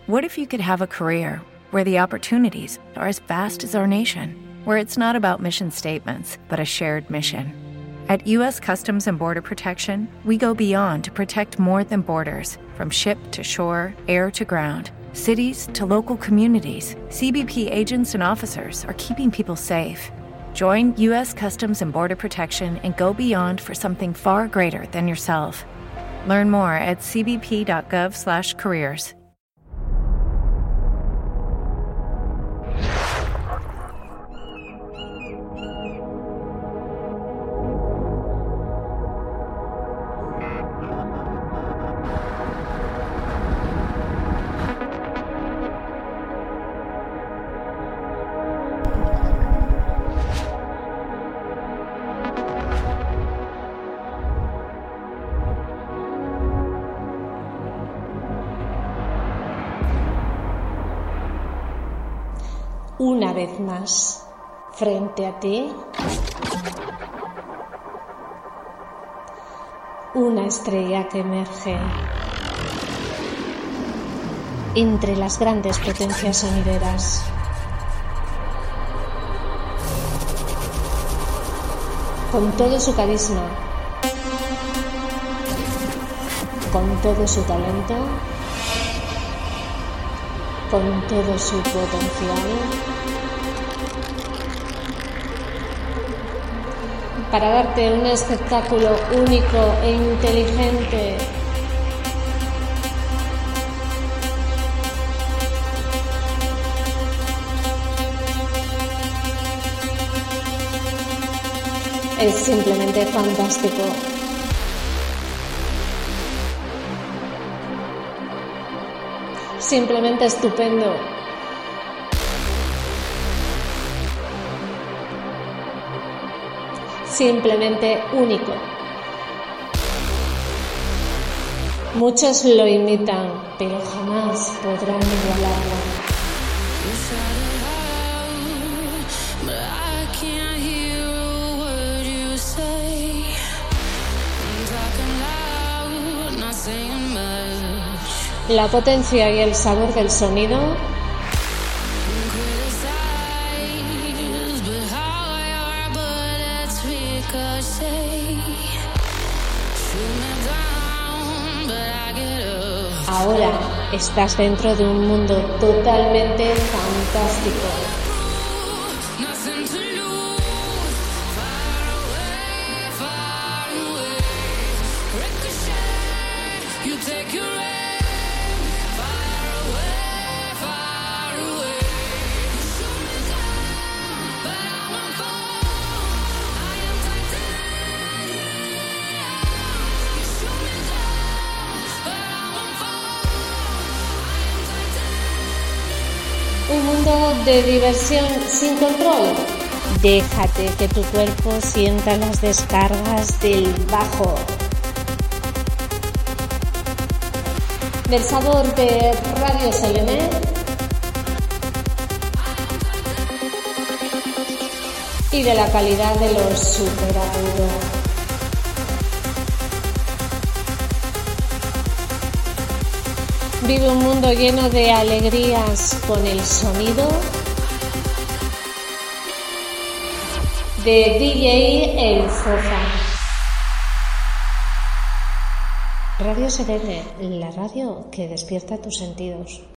What if you could have a career where the opportunities are as vast as our nation, where it's not about mission statements, but a shared mission? At U.S. Customs and Border Protection, we go beyond to protect more than borders. From ship to shore, air to ground, cities to local communities, CBP agents and officers are keeping people safe. Join U.S. Customs and Border Protection and go beyond for something far greater than yourself. Learn more at cbp.gov/careers. Una vez más, frente a ti, una estrella que emerge entre las grandes potencias sonideras. Con todo su carisma, con todo su talento, con todo su potencial, para darte un espectáculo único e inteligente. Es simplemente fantástico. Simplemente estupendo. Simplemente único. Muchos lo imitan, pero jamás podrán igualarlo. La potencia y el sabor del sonido ahora estás dentro de un mundo totalmente fantástico. Un mundo de diversión sin control. Déjate que tu cuerpo sienta las descargas del bajo, del sabor de Radio Selene y de la calidad de los superagudos. Vive un mundo lleno de alegrías con el sonido de DJ El Fofa. Radio Selene, la radio que despierta tus sentidos.